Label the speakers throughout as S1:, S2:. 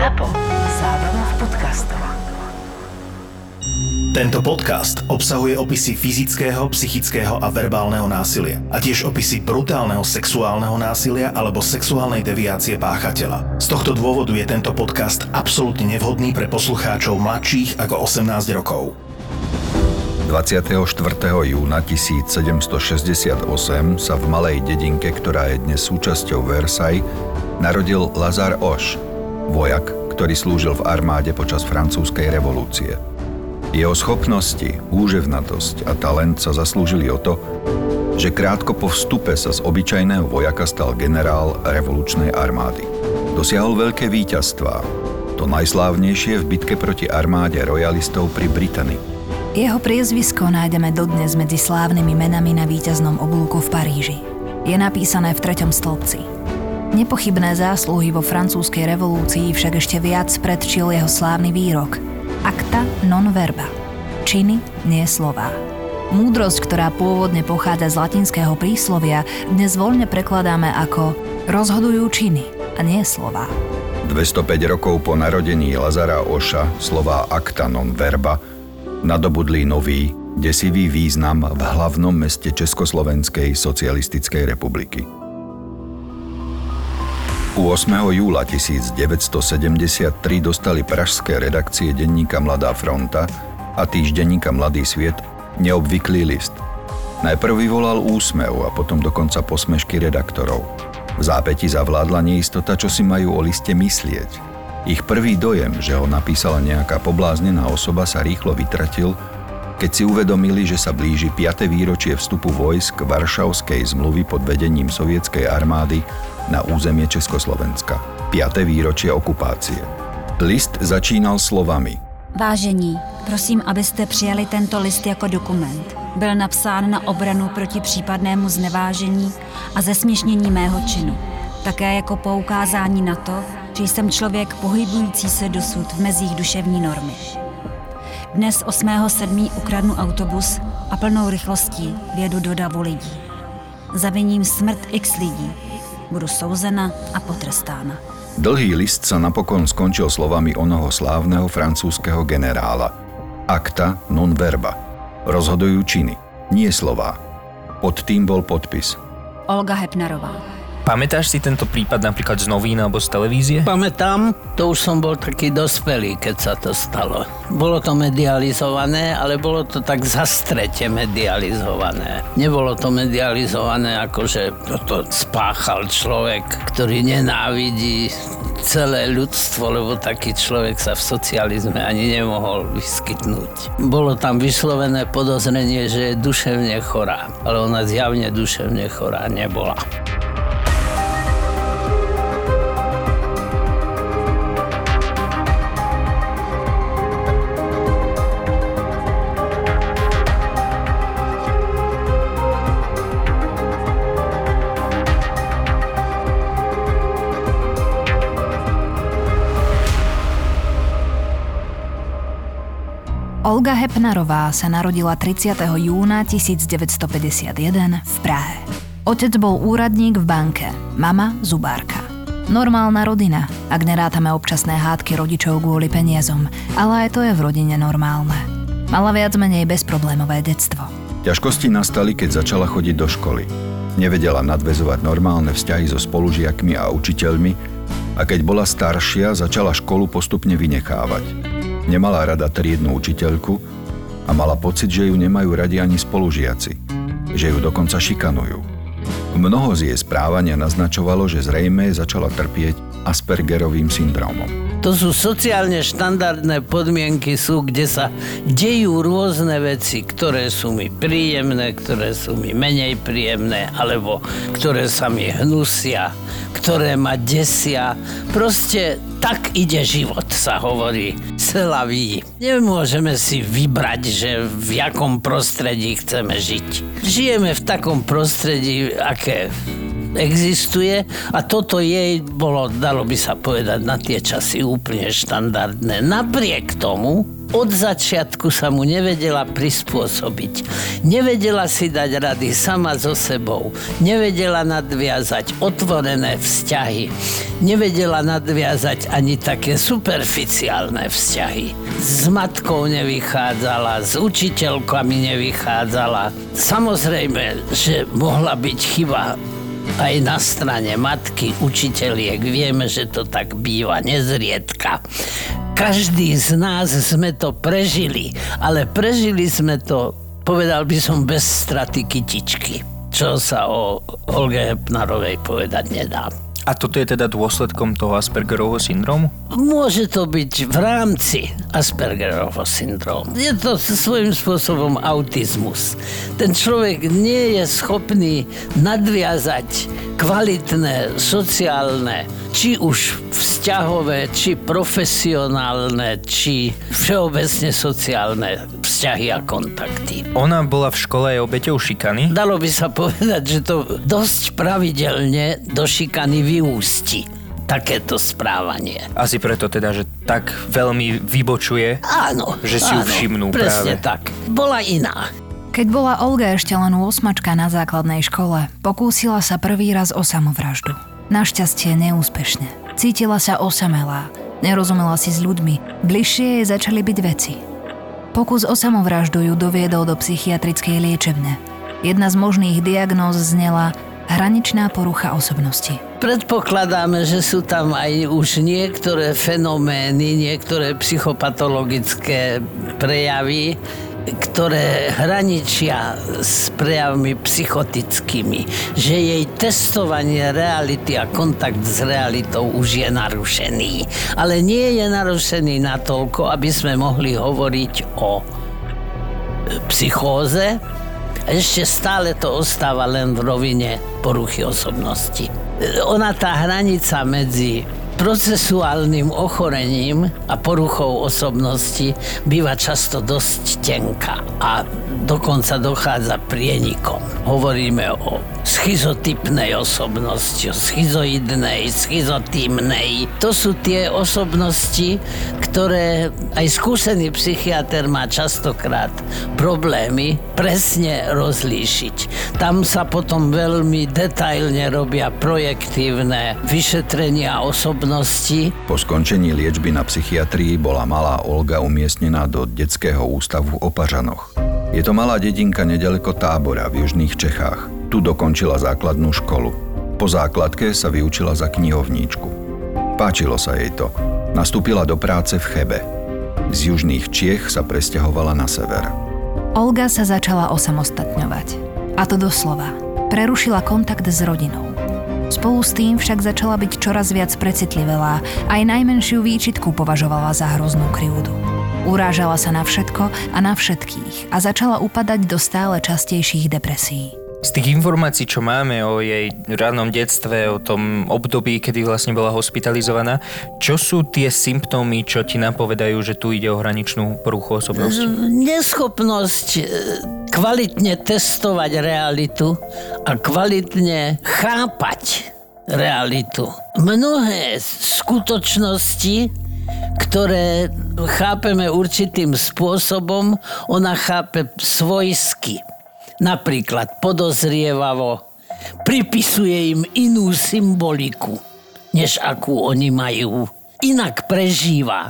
S1: ZAPO. Zábrná v podcastov.
S2: Tento podcast obsahuje opisy fyzického, psychického a verbálneho násilia a tiež opisy brutálneho sexuálneho násilia alebo sexuálnej deviácie páchateľa. Z tohto dôvodu je tento podcast absolútne nevhodný pre poslucháčov mladších ako 18 rokov.
S3: 24. júna 1768 sa v malej dedinke, ktorá je dnes súčasťou Versailles, narodil Lazare Hoche, vojak, ktorý slúžil v armáde počas francúzskej revolúcie. Jeho schopnosti, úževnatosť a talent sa zaslúžili o to, že krátko po vstupe sa z obyčajného vojaka stal generál revolučnej armády. Dosiahol veľké víťazstvá, to najslávnejšie v bitke proti armáde royalistov pri Británii.
S4: Jeho priezvisko nájdeme dodnes medzi slávnymi menami na víťaznom oblúku v Paríži. Je napísané v 3. stĺpci. Nepochybné zásluhy vo francúzskej revolúcii však ešte viac predčil jeho slávny výrok Acta non verba. Činy, nie slová. Múdrosť, ktorá pôvodne pochádza z latinského príslovia, dnes voľne prekladáme ako rozhodujú činy a nie slová.
S3: 205 rokov po narodení Lazara Hocha slová acta non verba nadobudli nový, desivý význam v hlavnom meste Československej socialistickej republiky. 8. júla 1973 dostali pražské redakcie denníka Mladá fronta a týždenníka Mladý sviet neobvyklý list. Najprv vyvolal úsmev a potom dokonca posmešky redaktorov. V zápäti zavládla neistota, čo si majú o liste myslieť. Ich prvý dojem, že ho napísala nejaká pobláznená osoba, sa rýchlo vytratil, keď si uvedomili, že sa blíži 5. výročie vstupu vojsk Varšavskej zmluvy pod vedením sovietskej armády na územie Československa. 5. výročie okupácie. List začínal slovami:
S5: Vážení, prosím, abyste přijali tento list jako dokument. Byl napsán na obranu proti případnému znevážení a zesměšnění mého činu. Také jako poukázání na to, že jsem člověk pohybující se dosud v mezích duševní normy. Dnes 8.7. ukradnu autobus a plnou rychlostí vjedu do davu lidí. Zaviním smrt x lidí. Budu souzena a potrestána.
S3: Dlhý list sa napokon skončil slovami onoho slávneho francúzskeho generála. Acta non verba. Rozhodujú činy, nie slová. Pod tým bol podpis.
S5: Olga Hepnerová.
S6: Pamätáš si tento prípad napríklad z novín alebo z televízie?
S7: Pamätám, to už som bol taký dospelý, keď sa to stalo. Bolo to medializované, ale bolo to tak zastrete medializované. Nebolo to medializované ako, že toto spáchal človek, ktorý nenávidí celé ľudstvo, lebo taký človek sa v socializme ani nemohol vyskytnúť. Bolo tam vyslovené podozrenie, že je duševne chorá, ale ona zjavne duševne chorá nebola.
S4: Olga Hepnerová sa narodila 30. júna 1951 v Prahe. Otec bol úradník v banke, mama zubárka. Normálna rodina, ak nerátame občasné hádky rodičov kvôli peniazom, ale aj to je v rodine normálne. Mala viac menej bezproblémové detstvo.
S3: Ťažkosti nastali, keď začala chodiť do školy. Nevedela nadväzovať normálne vzťahy so spolužiakmi a učiteľmi a keď bola staršia, začala školu postupne vynechávať. Nemala rada triednu učiteľku a mala pocit, že ju nemajú radi ani spolužiaci, že ju dokonca šikanujú. Mnoho z jej správania naznačovalo, že zrejme začala trpieť Aspergerovým syndrómom.
S7: To sú sociálne štandardné podmienky, kde sa dejú rôzne veci, ktoré sú mi príjemné, ktoré sú mi menej príjemné, alebo ktoré sa mi hnusia, ktoré ma desia. Proste tak ide život, sa hovorí. C'est la vie. Nemôžeme si vybrať, že v jakom prostredí chceme žiť. Žijeme v takom prostredí, aké existuje a toto jej bolo, dalo by sa povedať, na tie časy úplne štandardné. Napriek tomu od začiatku sa mu nevedela prispôsobiť. Nevedela si dať rady sama so sebou. Nevedela nadviazať otvorené vzťahy. Nevedela nadviazať ani také superficiálne vzťahy. S matkou nevychádzala, s učiteľkami nevychádzala. Samozrejme, že mohla byť chyba aj na strane matky, učiteľiek. Vieme, že to tak býva nezriedka. Každý z nás sme to prežili, ale prežili sme to, povedal by som, bez straty kytičky, čo sa o Olge Hepnarovej povedať nedá.
S6: A toto je teda dôsledkom toho Aspergerovho syndrómu?
S7: Môže to byť v rámci Aspergerovho syndrómu. Je to svojím spôsobom autizmus. Ten človek nie je schopný nadviazať kvalitné, sociálne, či už vzťahové, či profesionálne, či všeobecne sociálne vzťahy a kontakty.
S6: Ona bola v škole aj obeťou šikany?
S7: Dalo by sa povedať, že to dosť pravidelne do šikany vyústi. Takéto správanie.
S6: Asi preto teda, že tak veľmi vybočuje,
S7: áno,
S6: že si ju všimnú
S7: presne
S6: práve.
S7: Tak. Bola iná.
S4: Keď bola Olga ešte len 8-čka na základnej škole, pokúsila sa prvý raz o samovraždu. Našťastie neúspešne. Cítila sa osamelá, nerozumela si s ľuďmi, bližšie jej začali byť veci. Pokus o samovraždu ju doviedol do psychiatrickej liečebne. Jedna z možných diagnóz znela hraničná porucha osobnosti.
S7: Predpokladáme, že sú tam aj už niektoré fenomény, niektoré psychopatologické prejavy, ktoré hraničia s prejavmi psychotickými, že jej testovanie reality a kontakt s realitou už je narušený. Ale nie je narušený natoľko, aby sme mohli hovoriť o psychóze. Ešte stále to ostáva len v rovine poruchy osobnosti. Ona, tá hranica medzi procesuálnym ochorením a poruchou osobnosti býva často dosť tenká a dokonca dochádza prienikom. Hovoríme o schizotypnej osobnosti, o schizoidnej, schizotímnej. To sú tie osobnosti, ktoré aj skúsený psychiater má častokrát problémy presne rozlíšiť. Tam sa potom veľmi detailne robia projektívne vyšetrenia osobnosti.
S3: Po skončení liečby na psychiatrii bola malá Olga umiestnená do detského ústavu v Opažanoch. Je to malá dedinka nedaleko Tábora v južných Čechách. Tu dokončila základnú školu. Po základke sa vyučila za knihovníčku. Páčilo sa jej to. Nastúpila do práce v Chebe. Z južných Čiech sa presťahovala na sever.
S4: Olga sa začala osamostatňovať. A to doslova. Prerušila kontakt s rodinou. Spolu s tým však začala byť čoraz viac precitlivelá. Aj najmenšiu výčitku považovala za hroznú krivdu. Urážala sa na všetko a na všetkých a začala upadať do stále častejších depresií.
S6: Z tých informácií, čo máme o jej rannom detstve, o tom období, kedy vlastne bola hospitalizovaná, čo sú tie symptómy, čo ti napovedajú, že tu ide o hraničnú poruchu osobnosti?
S7: Neschopnosť kvalitne testovať realitu a kvalitne chápať realitu. Mnohé skutočnosti, ktoré chápeme určitým spôsobom, ona chápe svojsky. Napríklad podozrievavo, pripisuje im inú symboliku, než akú oni majú. Inak prežíva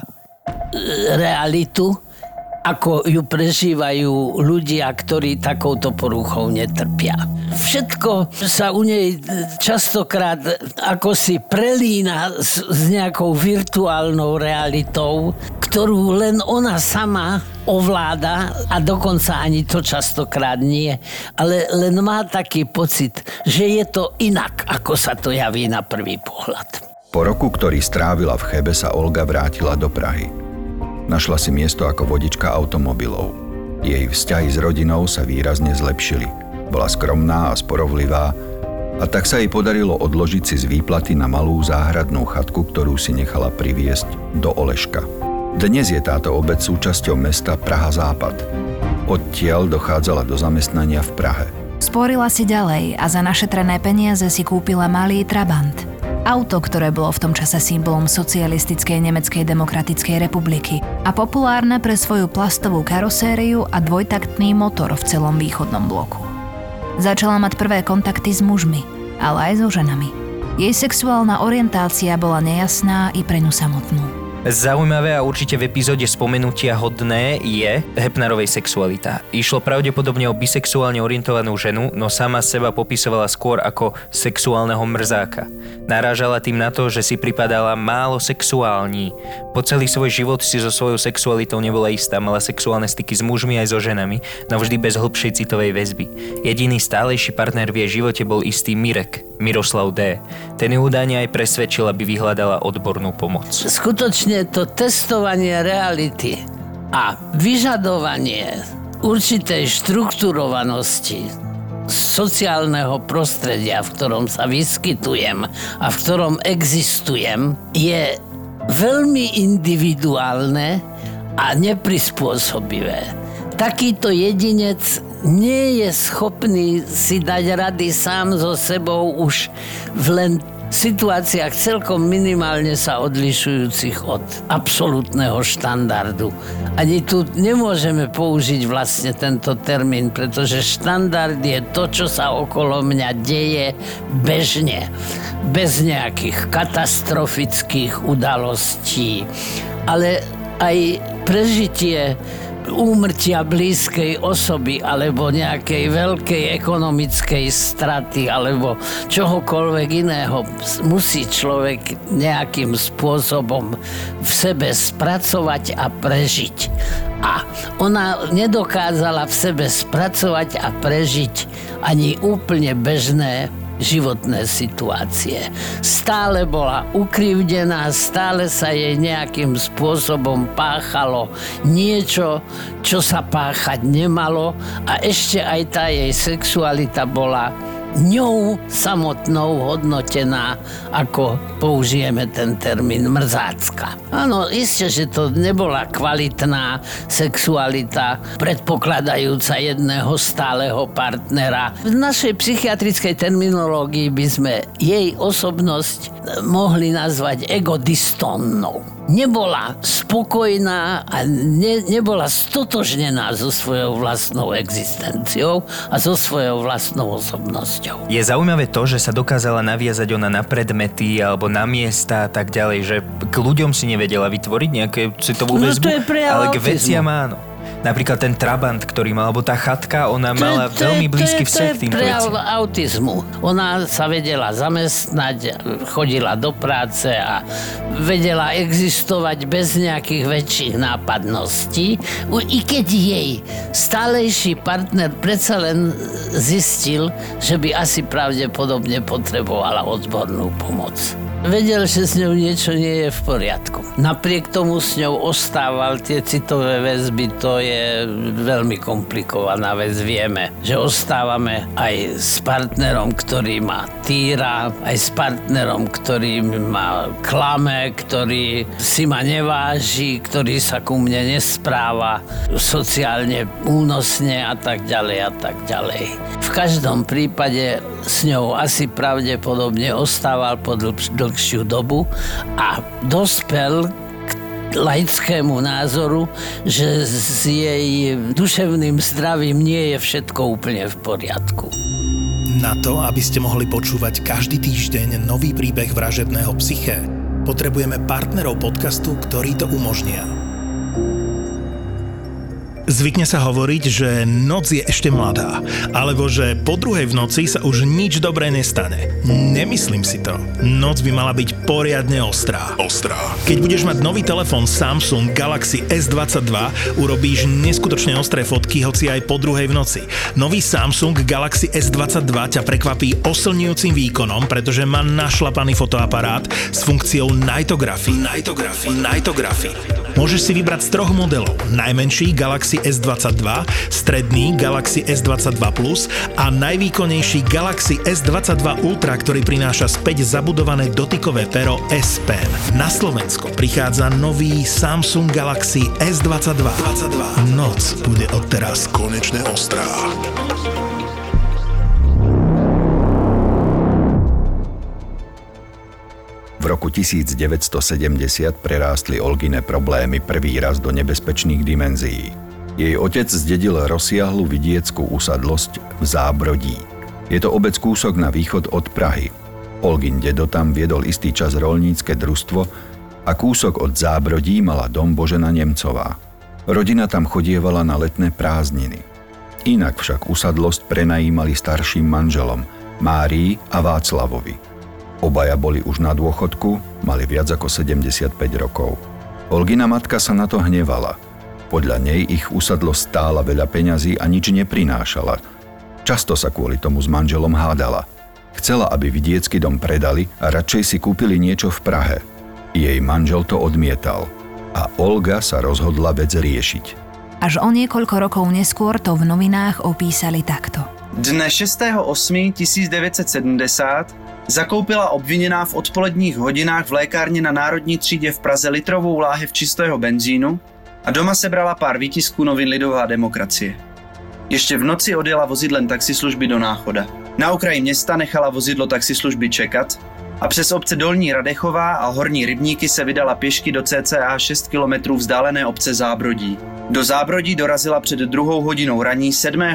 S7: realitu, ako ju prežívajú ľudia, ktorí takouto poruchou netrpia. Všetko sa u nej častokrát ako si prelína s nejakou virtuálnou realitou, ktorú len ona sama ovláda a dokonca ani to častokrát nie, ale len má taký pocit, že je to inak, ako sa to javí na prvý pohľad.
S3: Po roku, ktorý strávila v Chebe, sa Olga vrátila do Prahy. Našla si miesto ako vodička automobilov. Jej vzťahy s rodinou sa výrazne zlepšili. Bola skromná a sporovlivá a tak sa jej podarilo odložiť si z výplaty na malú záhradnú chatku, ktorú si nechala priviesť do Oleška. Dnes je táto obec súčasťou mesta Praha Západ. Odtiaľ dochádzala do zamestnania v Prahe.
S4: Sporila si ďalej a za našetrené peniaze si kúpila malý Trabant. Auto, ktoré bolo v tom čase symbolom socialistickej Nemeckej demokratickej republiky a populárne pre svoju plastovú karosériu a dvojtaktný motor v celom východnom bloku. Začala mať prvé kontakty s mužmi, ale aj so ženami. Jej sexuálna orientácia bola nejasná i pre ňu samotnú.
S6: Zaujímavé a určite v epizóde spomenutia hodné je Hepnerovej sexualita. Išlo pravdepodobne o bisexuálne orientovanú ženu, no sama seba popisovala skôr ako sexuálneho mrzáka. Narážala tým na to, že si pripadala málo sexuální. Po celý svoj život si so svojou sexualitou nebola istá, mala sexuálne styky s mužmi aj so ženami, no vždy bez hlbšej citovej väzby. Jediný stálejší partner v jej živote bol istý Mirek, Miroslav D. Ten ju údajne aj presvedčil, aby vyhľadala odbornú pomoc.
S7: Skutočne to testovanie reality a vyžadovanie určitej štrukturovanosti sociálneho prostredia, v ktorom sa vyskytujem a v ktorom existujem, je veľmi individuálne a neprispôsobivé. Takýto jedinec nie je schopný si dať rady sám so sebou už v len situáciách celkom minimálne sa odlišujúcich od absolútneho štandardu. Ani tu nemôžeme použiť vlastne tento termín, pretože štandard je to, čo sa okolo mňa deje bežne, bez nejakých katastrofických udalostí, ale aj prežitie úmrtia blízkej osoby alebo nejakej veľkej ekonomickej straty alebo čohokoľvek iného musí človek nejakým spôsobom v sebe spracovať a prežiť. A ona nedokázala v sebe spracovať a prežiť ani úplne bežné životné situácie. Stále bola ukrivdená, stále sa jej nejakým spôsobom páchalo niečo, čo sa páchať nemalo a ešte aj tá jej sexualita bola ňou samotnou hodnotená, ako použijeme ten termín mrzácka. Áno, isté, že to nebola kvalitná sexualita, predpokladajúca jedného stáleho partnera. V našej psychiatrickej terminológii by sme jej osobnosť mohli nazvať egodystónnou. Nebola spokojná a nebola stotožnená so svojou vlastnou existenciou a so svojou vlastnou osobnosťou.
S6: Je zaujímavé to, že sa dokázala naviazať ona na predmety alebo na miesta a tak ďalej, že k ľuďom si nevedela vytvoriť nejaké citovú väzbu, ale k veciam áno. Napríklad ten Trabant, ktorý mal, alebo tá chatka, ona mala veľmi blízky vzťah k týmto veciam. To je prejav autizmu.
S7: Ona sa vedela zamestnať, chodila do práce a vedela existovať bez nejakých väčších nápadností. I keď jej stálejší partner predsa len zistil, že by asi pravdepodobne potrebovala odbornú pomoc. Vedel, že s ňou niečo nie je v poriadku. Napriek tomu s ňou ostával tie citové väzby, to je veľmi komplikovaná vec. Vieme, že ostávame aj s partnerom, ktorý ma týra, aj s partnerom, ktorý ma klame, ktorý si ma neváži, ktorý sa ku mne nespráva sociálne únosne a tak ďalej a tak ďalej. V každom prípade s ňou asi pravdepodobne ostával po dlhšiu dobu a dospel k laickému názoru, že s jej duševným zdravím nie je všetko úplne v poriadku.
S2: Na to, aby ste mohli počúvať každý týždeň nový príbeh vražedného psyché, potrebujeme partnerov podcastu, ktorí to umožnia. Zvykne sa hovoriť, že noc je ešte mladá, alebo že po druhej v noci sa už nič dobré nestane. Nemyslím si to. Noc by mala byť poriadne ostrá. Keď budeš mať nový telefón Samsung Galaxy S22, urobíš neskutočne ostré fotky, hoci aj po druhej v noci. Nový Samsung Galaxy S22 ťa prekvapí oslňujúcim výkonom, pretože má našlapaný fotoaparát s funkciou Nightography. Môžeš si vybrať z 3 modelov. Najmenší Galaxy S22, stredný Galaxy S22 Plus a najvýkonnejší Galaxy S22 Ultra, ktorý prináša späť zabudované dotykové pero S Pen. Na Slovensko prichádza nový Samsung Galaxy S22. Noc bude odteraz konečne ostrá.
S3: V roku 1970 prerástli Olgine problémy prvý raz do nebezpečných dimenzií. Jej otec zdedil rozsiahlu vidieckú usadlosť v Zábrodí. Je to obec kúsok na východ od Prahy. Olgin dedo tam viedol istý čas roľnícke družstvo a kúsok od Zábrodí mala dom Božena Nemcová. Rodina tam chodievala na letné prázdniny. Inak však usadlosť prenajímali starším manželom Márii a Václavovi. Obaja boli už na dôchodku, mali viac ako 75 rokov. Olgina matka sa na to hnevala. Podľa nej ich usadlosť stála veľa peňazí a nič neprinášala. Často sa kvôli tomu s manželom hádala. Chcela, aby vidiecký dom predali a radšej si kúpili niečo v Prahe. Jej manžel to odmietal a Olga sa rozhodla vec riešiť.
S4: Až o niekoľko rokov neskôr to v novinách opísali takto.
S8: Dne 6.8.1970 zakoupila obviněná v odpoledních hodinách v lékárně na Národní třídě v Praze litrovou láhev čistého benzínu a doma sebrala pár výtisků novin Lidová demokracie. Ještě v noci odjela vozidlem taxislužby do Náchoda. Na okraji města nechala vozidlo taxislužby čekat a přes obce Dolní Radechová a Horní Rybníky se vydala pěšky do cca 6 kilometrů vzdálené obce Zábrodí. Do Zábrodí dorazila před 2 hodinou raní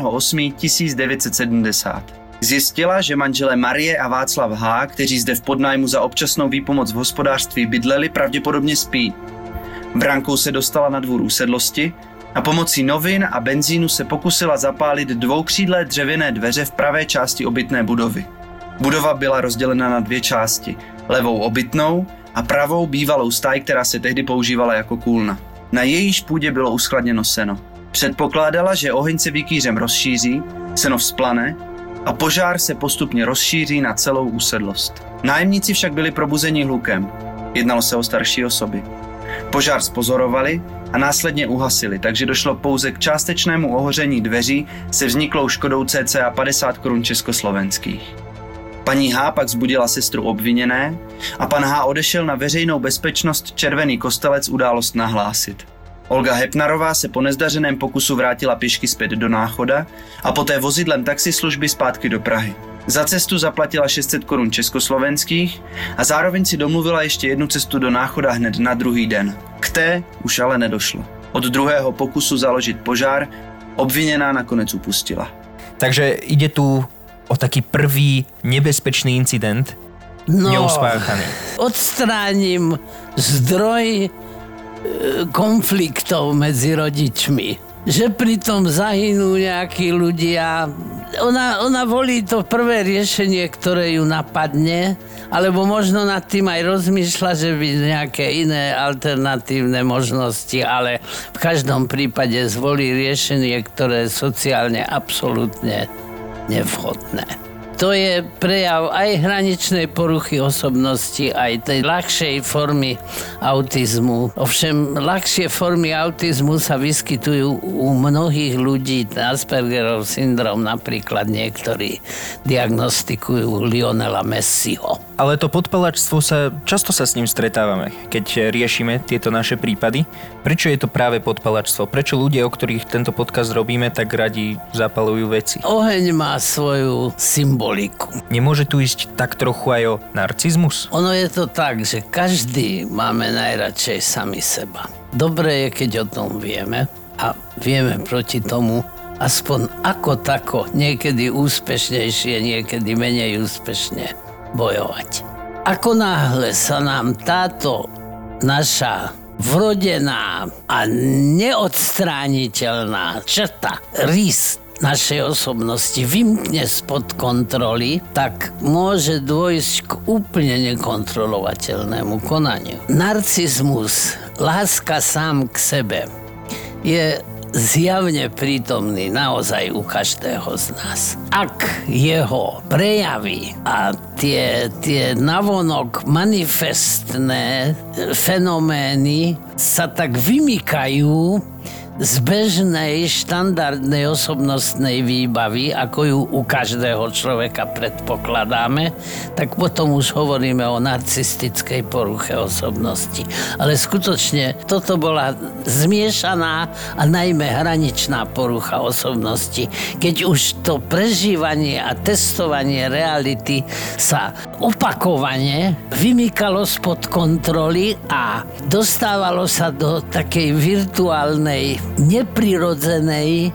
S8: 7.8.1970. Zjistila, že manželé Marie a Václav H., kteří zde v podnájmu za občasnou výpomoc v hospodářství bydleli, pravděpodobně spí. Brankou se dostala na dvůr usedlosti a pomocí novin a benzínu se pokusila zapálit 2křídlé dřevěné dveře v pravé části obytné budovy. Budova byla rozdělena na 2 části, levou obytnou a pravou bývalou stáj, která se tehdy používala jako kůlna. Na jejíž půdě bylo uskladněno seno. Předpokládala, že oheň se vikýřem rozšíří, seno vzplane a požár se postupně rozšíří na celou usedlost. Nájemníci však byli probuzeni hlukem. Jednalo se o starší osoby. Požár spozorovali a následně uhasili, takže došlo pouze k částečnému ohoření dveří se vzniklou škodou cca 50 korun československých. Paní H. pak vzbudila sestru obviněné a pan H. odešel na veřejnou bezpečnost Červený Kostelec událost nahlásit. Olga Hepnarová se po nezdařeném pokusu vrátila pěšky zpět do Náchoda a poté vozidlem taxislužby zpátky do Prahy. Za cestu zaplatila 600 korun československých a zároveň si domluvila ještě jednu cestu do Náchoda hned na druhý den. K té už ale nedošlo. Od druhého pokusu založit požár obviněná nakonec upustila.
S6: Takže ide tu o taký prvý nebezpečný incident, neuspáchaný.
S7: Odstránim zdroj konfliktov medzi rodičmi. Že pritom zahynú nejakí ľudia. Ona volí to prvé riešenie, ktoré ju napadne, alebo možno nad tým aj rozmýšľa, že by nejaké iné alternatívne možnosti, ale v každom prípade zvolí riešenie, ktoré je sociálne absolútne nevhodné. To je prejav aj hraničnej poruchy osobnosti, aj tej ľahšej formy autizmu. Ovšem, ľahšie formy autizmu sa vyskytujú u mnohých ľudí. Aspergerov syndrom napríklad niektorí diagnostikujú Lionela Messiho.
S6: Ale to podpalačstvo často sa s ním stretávame, keď riešime tieto naše prípady. Prečo je to práve podpalačstvo? Prečo ľudia, o ktorých tento podcast robíme, tak radi zapalujú veci?
S7: Oheň má svoju symboliku.
S6: Nemôže tu ísť tak trochu aj o narcizmus?
S7: Ono je to tak, že každý máme najradšej sami seba. Dobre je, keď o tom vieme a vieme proti tomu aspoň ako tako, niekedy úspešnejšie, niekedy menej úspešne bojovať. Ako náhle sa nám táto naša vrodená a neodstrániteľná črta, rys našej osobnosti vymkne spod kontroly, tak môže dôjsť k úplne nekontrolovateľnému konaniu. Narcizmus, láska sám k sebe, je zjavne prítomný naozaj u každého z nás. Ak jeho prejavy a tie navonok manifestné fenomény sa tak vymykajú z bežnej, štandardnej osobnostnej výbavy, ako ju u každého človeka predpokladáme, tak potom už hovoríme o narcistickej poruche osobnosti. Ale skutočne toto bola zmiešaná a najmä hraničná porucha osobnosti, keď už to prežívanie a testovanie reality sa opakovane vymykalo spod kontroly a dostávalo sa do takej virtuálnej, neprirodzenej,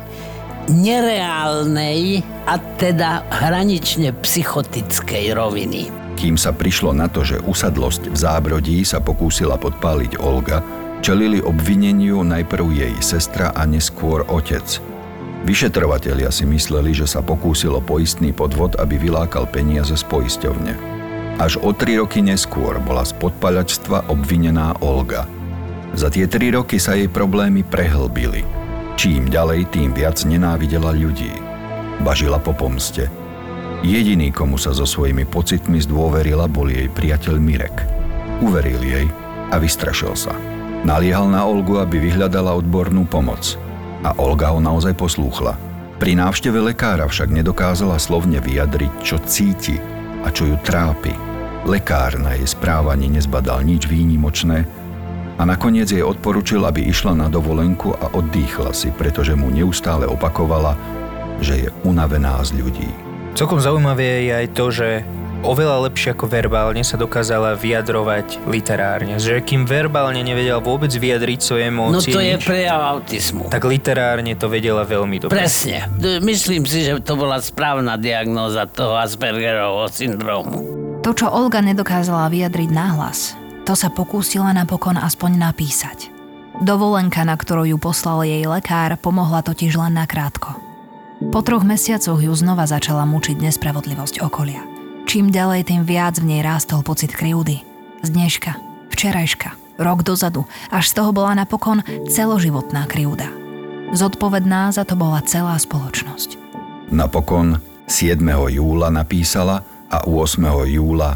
S7: nereálnej a teda hranične psychotickej roviny.
S3: Kým sa prišlo na to, že usadlosť v Zábrodí sa pokúsila podpáliť Olga, čelili obvineniu najprv jej sestra a neskôr otec. Vyšetrovatelia si mysleli, že sa pokúsilo poistný podvod, aby vylákal peniaze z poisťovne. Až o 3 roky neskôr bola z podpaľačstva obvinená Olga. Za tie 3 roky sa jej problémy prehlbili. Čím ďalej, tým viac nenávidela ľudí. Bažila po pomste. Jediný, komu sa so svojimi pocitmi zdôverila, bol jej priateľ Mirek. Uveril jej a vystrašil sa. Naliehal na Olgu, aby vyhľadala odbornú pomoc. A Olga ho naozaj poslúchla. Pri návšteve lekára však nedokázala slovne vyjadriť, čo cíti a čo ju trápi. Lekár na jej správaní nezbadal nič výnimočné a nakoniec jej odporučil, aby išla na dovolenku a oddychla si, pretože mu neustále opakovala, že je unavená z ľudí.
S6: Celkom zaujímavé je aj to, že oveľa lepšie ako verbálne sa dokázala vyjadrovať literárne. Že kým verbálne nevedela vôbec vyjadriť svoje emócie,
S7: no to je prejav autizmu.
S6: Tak literárne to vedela veľmi dobre.
S7: Presne. Myslím si, že to bola správna diagnóza toho Aspergerovho syndrómu.
S4: To, čo Olga nedokázala vyjadriť nahlas, to sa pokúsila napokon aspoň napísať. Dovolenka, na ktorú ju poslal jej lekár, pomohla totiž len nakrátko. Po 3 mesiacoch ju znova začala mučiť nespravodlivosť okolia. Čím ďalej, tým viac v nej rástol pocit krivdy. Z dneška, včerajška, rok dozadu, až z toho bola napokon celoživotná krivda. Zodpovedná za to bola celá spoločnosť.
S3: Napokon 7. júla napísala a 8. júla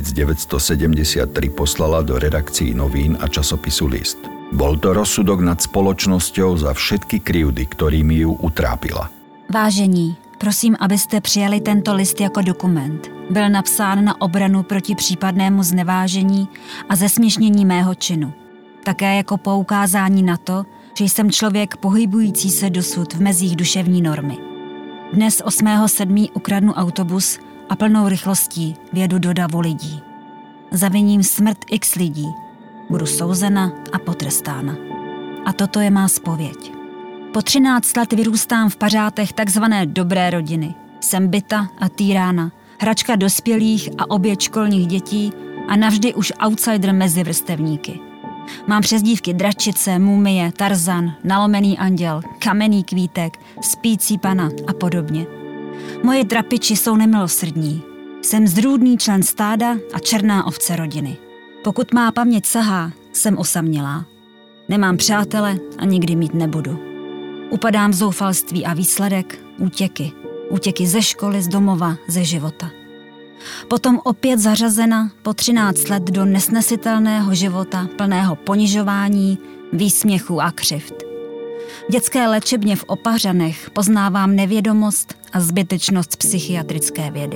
S3: 1973 poslala do redakcií novín a časopisu List. Bol to rozsudok nad spoločnosťou za všetky krivdy, ktorými ju utrápila.
S5: Vážení, prosím, abyste přijali tento list jako dokument. Byl napsán na obranu proti případnému znevážení a zesměšnění mého činu. Také jako poukázání na to, že jsem člověk pohybující se dosud v mezích duševní normy. Dnes 8.7. ukradnu autobus a plnou rychlostí vjedu do davu lidí. Zaviním smrt x lidí. Budu souzena a potrestána. A toto je má zpověď. Po 13 let vyrůstám v pařátech takzvané dobré rodiny. Jsem byta a týrána, hračka dospělých a oběť školních dětí a navždy už outsider mezi vrstevníky. Mám přezdívky Dračice, Mumie, Tarzan, Nalomený anděl, Kamenný kvítek, Spící pana a podobně. Moje trapiči jsou nemilosrdní. Jsem zrůdný člen stáda a černá ovce rodiny. Pokud má paměť sahá, jsem osamělá. Nemám přátele a nikdy mít nebudu. Upadám v zoufalství a výsledek útěky. Útěky ze školy, z domova, ze života. Potom opět zařazena po 13 let do nesnesitelného života plného ponižování, výsměchů a křivd. V dětské léčebně v Opařanech poznávám nevědomost a zbytečnost psychiatrické vědy.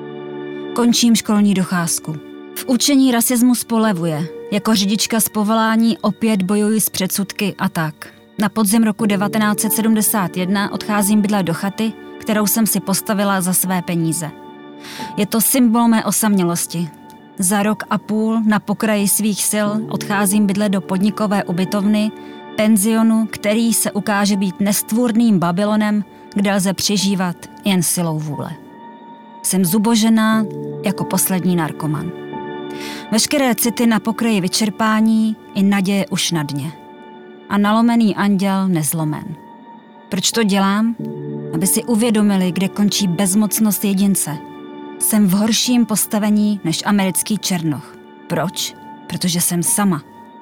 S5: Končím školní docházku. V učení rasismus polevuje. Jako řidička z povolání opět bojuji s předsudky a tak. Na podzim roku 1971 odcházím bydlet do chaty, kterou jsem si postavila za své peníze. Je to symbol mé osamělosti. Za 1,5 roku na pokraji svých sil odcházím bydlet do podnikové ubytovny, penzionu, který se ukáže být nestvůrným Babylonem, kde lze přežívat jen silou vůle. Jsem zubožená jako poslední narkoman. Veškeré city na pokraji vyčerpání i naděje už na dně. A nalomený anděl nezlomen. Proč to dělám? Aby si uvědomili, kde končí bezmocnost jedince. Jsem v horším postavení než americký černoch. Proč? Protože jsem sama.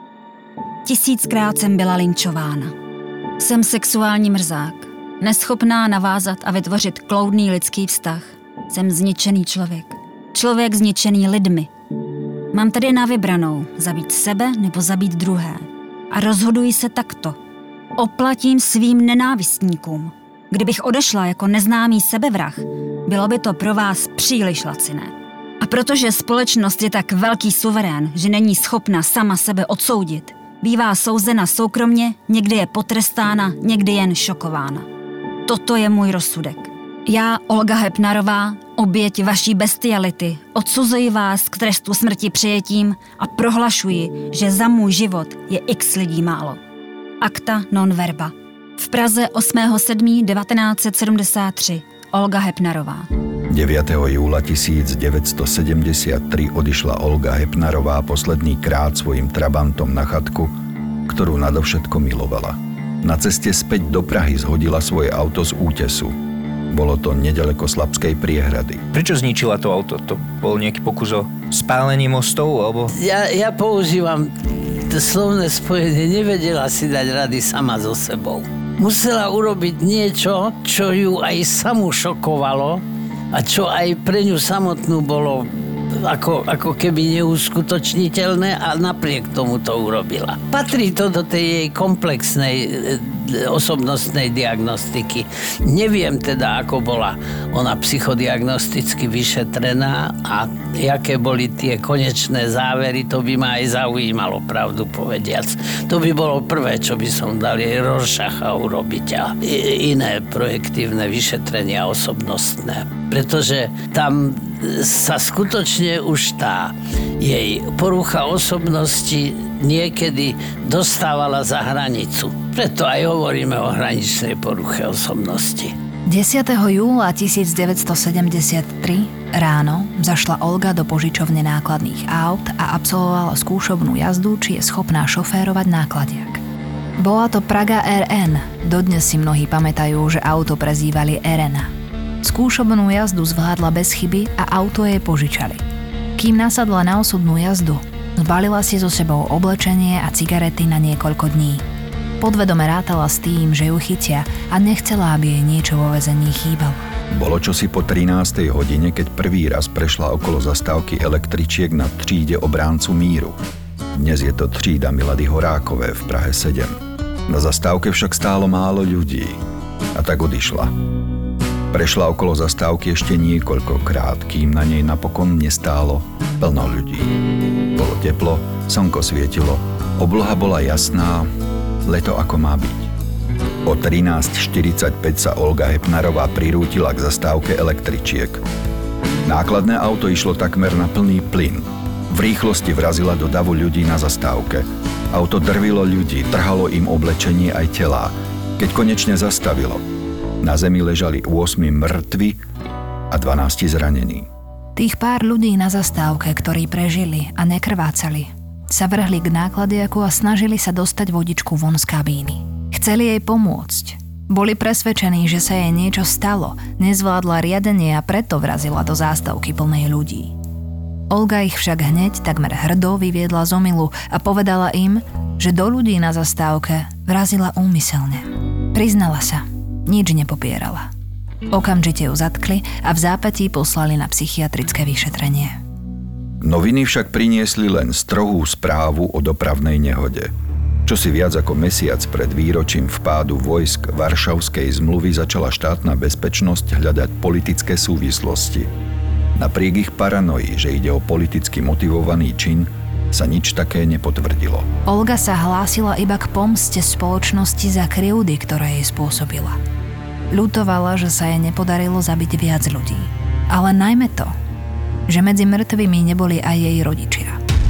S5: 1000krát jsem byla lynčována. Jsem sexuální mrzák. Neschopná navázat a vytvořit kloudný lidský vztah. Jsem zničený člověk. Člověk zničený lidmi. Mám tady na vybranou zabít sebe nebo zabít druhé. A rozhoduji se takto. Oplatím svým nenávistníkům. Kdybych odešla jako neznámý sebevrah, bylo by to pro vás příliš laciné. A protože společnost je tak velký suverén, že není schopna sama sebe odsoudit, bývá souzena soukromně, někdy je potrestána, někdy jen šokována. Toto je můj rozsudek. Já, Olga Hepnarová, Oběť vaší bestiality, odsuzuji vás k trestu smrti přijetím a prohlašuji, že za můj život je x lidí málo. Acta non verba. V Praze 8.7.1973. Olga Hepnarová.
S3: 9. júla 1973 odišla Olga Hepnarová posledný krát svojim trabantom na chatku, ktorú nadovšetko milovala. Na ceste späť do Prahy zhodila svoje auto z útesu. Bolo to nedaleko Slabskej priehrady.
S6: Prečo zničila to auto? To bol nejaký pokus o spálení mostov, alebo...
S7: Ja používam slovné spojenie, nevedela si dať rady sama so sebou. Musela urobiť niečo, čo ju aj samú šokovalo a čo aj pre ňu samotnú bolo ako keby neuskutočniteľné a napriek tomu to urobila. Patrí to do tej jej komplexnej osobnostnej diagnostiky. Neviem teda, ako bola ona psychodiagnosticky vyšetrená a jaké boli tie konečné závery, to by ma aj zaujímalo, pravdu povediac. To by bolo prvé, čo by som dal jej Rorschacha urobiť a iné projektívne vyšetrenia osobnostné. Pretože tam sa skutočne už tá jej porucha osobnosti niekedy dostávala za hranicu. Preto aj hovoríme o hraničnej poruche osobnosti.
S4: 10. júla 1973 ráno zašla Olga do požičovne nákladných aut a absolvovala skúšobnú jazdu, či je schopná šoférovať nákladiak. Bola to Praga RN, dodnes si mnohí pamätajú, že auto prezývali Erena. Skúšobnú jazdu zvládla bez chyby a auto jej požičali. Kým nasadla na osudnú jazdu, zbalila si so sebou oblečenie a cigarety na niekoľko dní. Podvedome rátala s tým, že ju chytia a nechcela, aby jej niečo vo väzení chýbalo.
S3: Bolo čosi po 13. hodine, keď prvý raz prešla okolo zastávky električiek na tříde Obráncu míru. Dnes je to třída Milady Horákové v Prahe 7. Na zastávke však stálo málo ľudí a tak odišla. Prešla okolo zastávky ešte niekoľkokrát, kým na nej napokon nestálo plno ľudí. Bolo teplo, slnko svietilo, obloha bola jasná, leto ako má byť. O 13.45 sa Olga Hepnarová prirútila k zastávke električiek. Nákladné auto išlo takmer na plný plyn. V rýchlosti vrazila do davu ľudí na zastávke. Auto drvilo ľudí, trhalo im oblečenie aj telá. Keď konečne zastavilo, na zemi ležali 8 mŕtvi a 12 zranení.
S4: Tých pár ľudí na zastávke, ktorí prežili a nekrvácali, sa vrhli k nákladiaku a snažili sa dostať vodičku von z kabíny. Chceli jej pomôcť. Boli presvedčení, že sa jej niečo stalo, nezvládla riadenie a preto vrazila do zástavky plnej ľudí. Olga ich však hneď takmer hrdo vyviedla z omylu a povedala im, že do ľudí na zastávke vrazila úmyselne. Priznala sa. Nič nepopierala. Okamžite ju zatkli a v zápätí poslali na psychiatrické vyšetrenie.
S3: Noviny však priniesli len strohú správu o dopravnej nehode. Čosi viac ako mesiac pred výročím vpádu vojsk Varšavskej zmluvy začala štátna bezpečnosť hľadať politické súvislosti. Napriek ich paranoji, že ide o politicky motivovaný čin, sa nič také nepotvrdilo.
S4: Olga sa hlásila iba k pomste spoločnosti za krivdy, ktoré jej spôsobila. Ľutovala, že sa jej nepodarilo zabiť viac ľudí. Ale najmä to, že medzi mŕtvými neboli aj jej rodičia.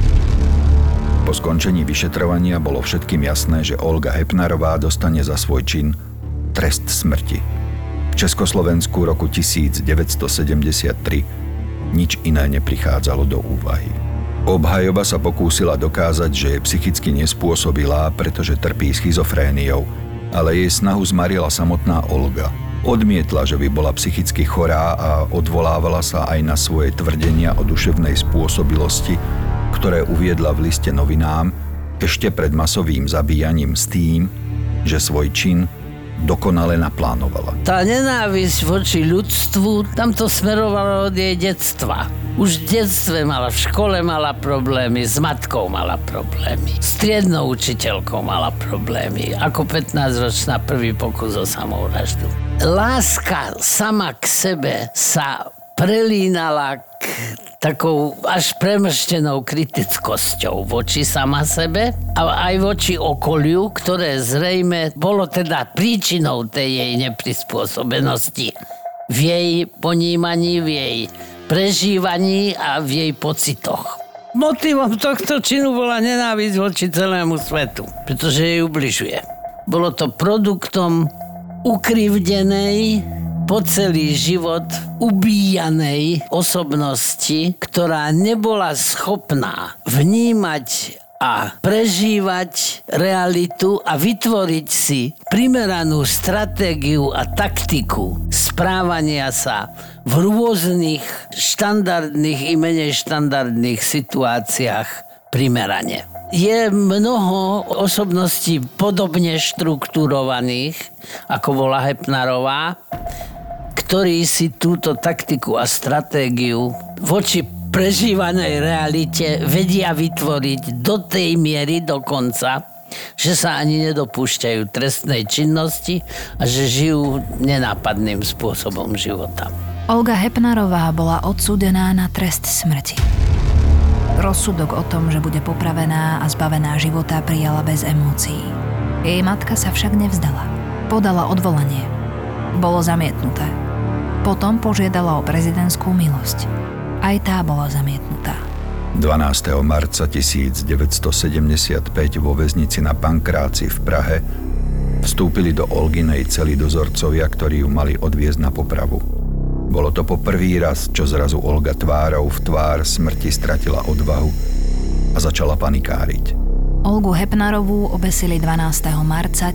S3: Po skončení vyšetrovania bolo všetkým jasné, že Olga Hepnarová dostane za svoj čin trest smrti. V Československu roku 1973 nič iné neprichádzalo do úvahy. Obhajoba sa pokúsila dokázať, že je psychicky nespôsobilá, pretože trpí schizofréniou, ale jej snahu zmarila samotná Olga. Odmietla, že by bola psychicky chorá a odvolávala sa aj na svoje tvrdenia o duševnej spôsobilosti, ktoré uviedla v liste novinám ešte pred masovým zabíjaním s tým, že svoj čin dokonale naplánovala.
S7: Tá nenávisť voči ľudstvu, tam to smerovalo od jej detstva. Už v detstve mala, v škole mala problémy, s matkou mala problémy, s triednou učiteľkou mala problémy, ako 15-ročná prvý pokus o samovraždu. Láska sama k sebe sa prelínala k takou až premrštenou kritickosťou voči sama sebe a aj voči okoliu, ktoré zrejme bolo teda príčinou tej jej neprispôsobenosti. v jej ponímaní, v jej prežívaní a v jej pocitoch. Motivom tohto činu bola nenávisť voči celému svetu, pretože jej ubližuje. Bolo to produktom ukrivdenej, po celý život ubíjanej osobnosti, ktorá nebola schopná vnímať a prežívať realitu a vytvoriť si primeranú stratégiu a taktiku správania sa v rôznych štandardných i menej štandardných situáciách primerane. Je mnoho osobností podobne štruktúrovaných, ako bola Hepnarová, ktorí si túto taktiku a stratégiu voči prežívanej realite vedia vytvoriť do tej miery dokonca, že sa ani nedopúšťajú trestnej činnosti a že žijú nenápadným spôsobom života.
S4: Olga Hepnarová bola odsúdená na trest smrti. Rozsudok o tom, že bude popravená a zbavená života, prijala bez emócií. Jej matka sa však nevzdala. Podala odvolanie. Bolo zamietnuté. Potom požiadala o prezidentskú milosť. Aj tá bola zamietnutá.
S3: 12. marca 1975 vo väznici na Pankráci v Prahe vstúpili do Olginej cely dozorcovia, ktorí ju mali odviezť na popravu. Bolo to po prvý raz, čo zrazu Olga tvárou v tvár smrti stratila odvahu a začala panikáriť.
S4: Olgu Hepnarovú obesili 12. marca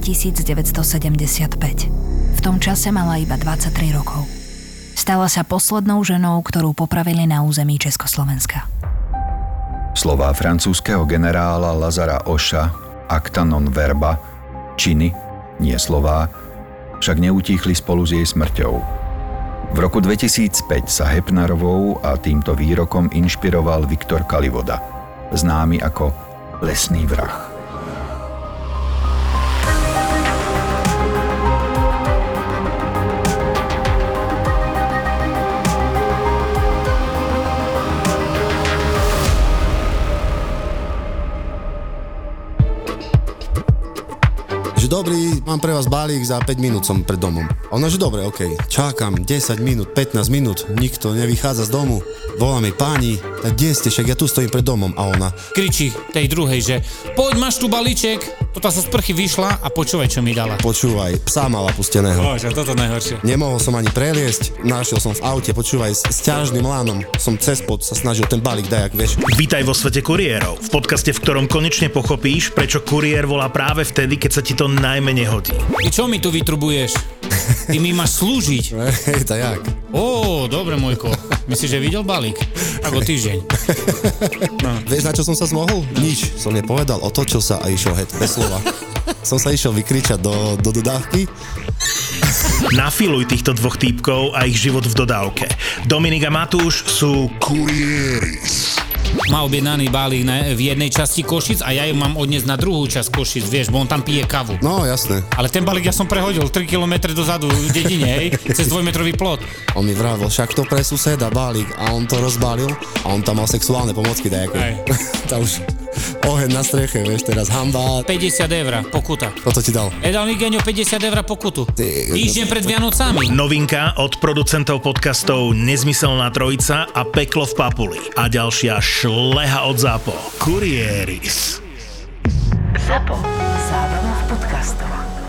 S4: 1975. V tom čase mala iba 23 rokov. Stala sa poslednou ženou, ktorú popravili na území Československa.
S3: Slová francúzskeho generála Lazara Oša, acta non verba, činy, nie slová, však neutíchli spolu s jej smrťou. V roku 2005 sa Hepnarovou a týmto výrokom inšpiroval Viktor Kalivoda, známy ako lesný vrah.
S9: Dobrý, mám pre vás balík, za 5 minút som pred domom. A ona, že dobre, okej. Čakám 10 minút, 15 minút, nikto nevychádza z domu. Volá mi páni, tak kde ste, však ja tu stojím pred domom. A ona
S10: kričí tej druhej, že poď, máš tu balíček. Toto sa z sprchy vyšla a počúvaj, čo mi dala.
S9: Počúvaj, psa mala pusteného.
S10: Bože, toto najhoršie.
S9: Nemohol som ani preliesť, našiel som v aute, počúvaj, s ťažným lánom. Som cez pod sa snažil ten balík dajak, vieš.
S2: Vítaj vo svete kuriérov, v podcaste, v ktorom konečne pochopíš, prečo kuriér volá práve vtedy, keď sa ti to najmenej hodí.
S10: Ty čo mi tu vytrubuješ? Ty mi máš slúžiť.
S9: Hej, to jak?
S10: Ó, dobre, môjko. Myslíš, že videl balík? Tak o týždeň.
S9: No. Vieš, na čo som sa zmohol? Nič. Som nepovedal, otočil sa a išiel het, bez slova. Som sa išiel vykričať do dodávky.
S2: Nafiluj týchto dvoch týpkov a ich život v dodávke. Dominik a Matúš sú kuriéris.
S10: Má objednaný balík v jednej časti Košic a ja ju mám odniesť na druhú časť Košic, vieš, bo on tam pije kavu.
S9: No, jasné.
S10: Ale ten balík ja som prehodil 3 km dozadu v dedine, hej, cez 2-metrový plot.
S9: On mi vravil, však to pre suseda balík a on to rozbalil a on tam mal sexuálne pomocky dajaké. Tá už oheň na streche, vieš, teraz hamba.
S10: 50 eur pokuta.
S9: Toto ti dal?
S10: Dal mi Geňo 50 eur pokutu. Týždeň pred Vianocami.
S2: Novinka od producentov podcastov Nezmyselná trojica a Peklo v Papuli. A ďalšia šleha od ZAPO. Kuriéris.
S1: ZAPO. Zábrná v podcastovách.